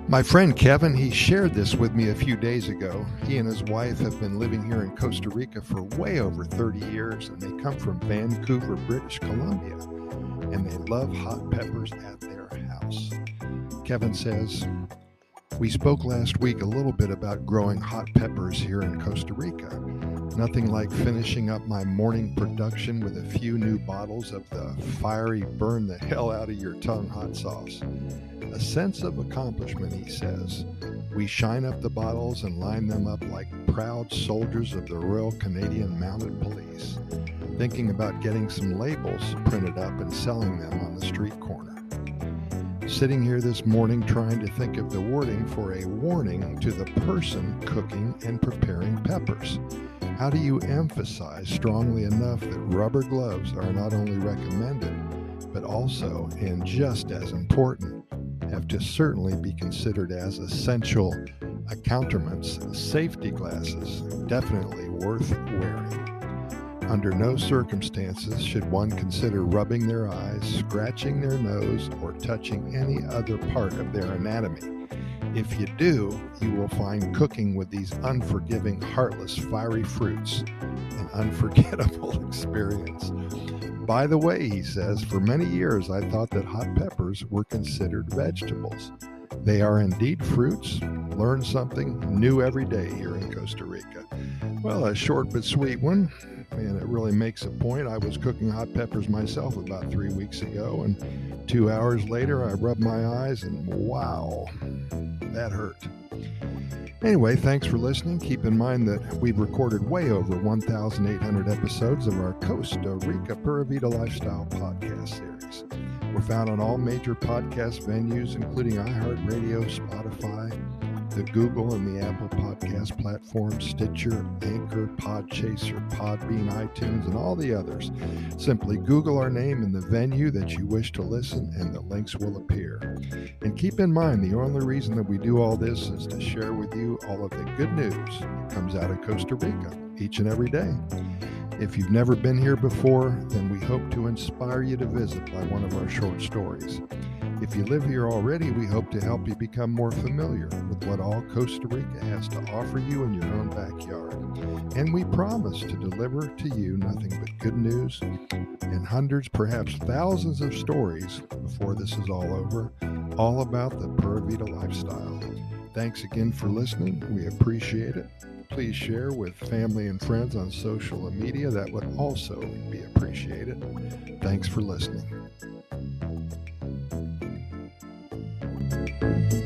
My friend Kevin, he shared this with me a few days ago. He and his wife have been living here in Costa Rica for way over 30 years, and they come from Vancouver, British Columbia, and they love hot peppers at their house. Kevin says, "We spoke last week a little bit about growing hot peppers here in Costa Rica. Nothing like finishing up my morning production with a few new bottles of the fiery, burn the hell out of your tongue hot sauce. A sense of accomplishment," he says. "We shine up the bottles and line them up like proud soldiers of the Royal Canadian Mounted Police, thinking about getting some labels printed up and selling them on the street corner. Sitting here this morning trying to think of the wording for a warning to the person cooking and preparing peppers. How do you emphasize strongly enough that rubber gloves are not only recommended, but also, and just as important, have to certainly be considered as essential accoutrements, safety glasses, definitely worth wearing. Under no circumstances should one consider rubbing their eyes, scratching their nose, or touching any other part of their anatomy. If you do, you will find cooking with these unforgiving, heartless, fiery fruits an unforgettable experience. By the way," he says, "for many years I thought that hot peppers were considered vegetables. They are indeed fruits. Learn something new every day here in Costa Rica." Well, a short but sweet one, and it really makes a point. I was cooking hot peppers myself about 3 weeks ago, and 2 hours later I rubbed my eyes and wow, that hurt. Anyway, thanks for listening. Keep in mind that we've recorded way over 1,800 episodes of our Costa Rica Pura Vida Lifestyle podcast series. We're found on all major podcast venues, including iHeartRadio, Spotify, the Google and the Apple podcast platforms, Stitcher, Anchor, Podchaser, Podbean, iTunes, and all the others. Simply Google our name and the venue that you wish to listen, and the links will appear. And keep in mind, the only reason that we do all this is to share with you all of the good news that comes out of Costa Rica each and every day. If you've never been here before, then we hope to inspire you to visit by one of our short stories. If you live here already, we hope to help you become more familiar with what all Costa Rica has to offer you in your own backyard. And we promise to deliver to you nothing but good news and hundreds, perhaps thousands of stories before this is all over, all about the Pura Vida lifestyle. Thanks again for listening. We appreciate it. Please share with family and friends on social media. That would also be appreciated. Thanks for listening.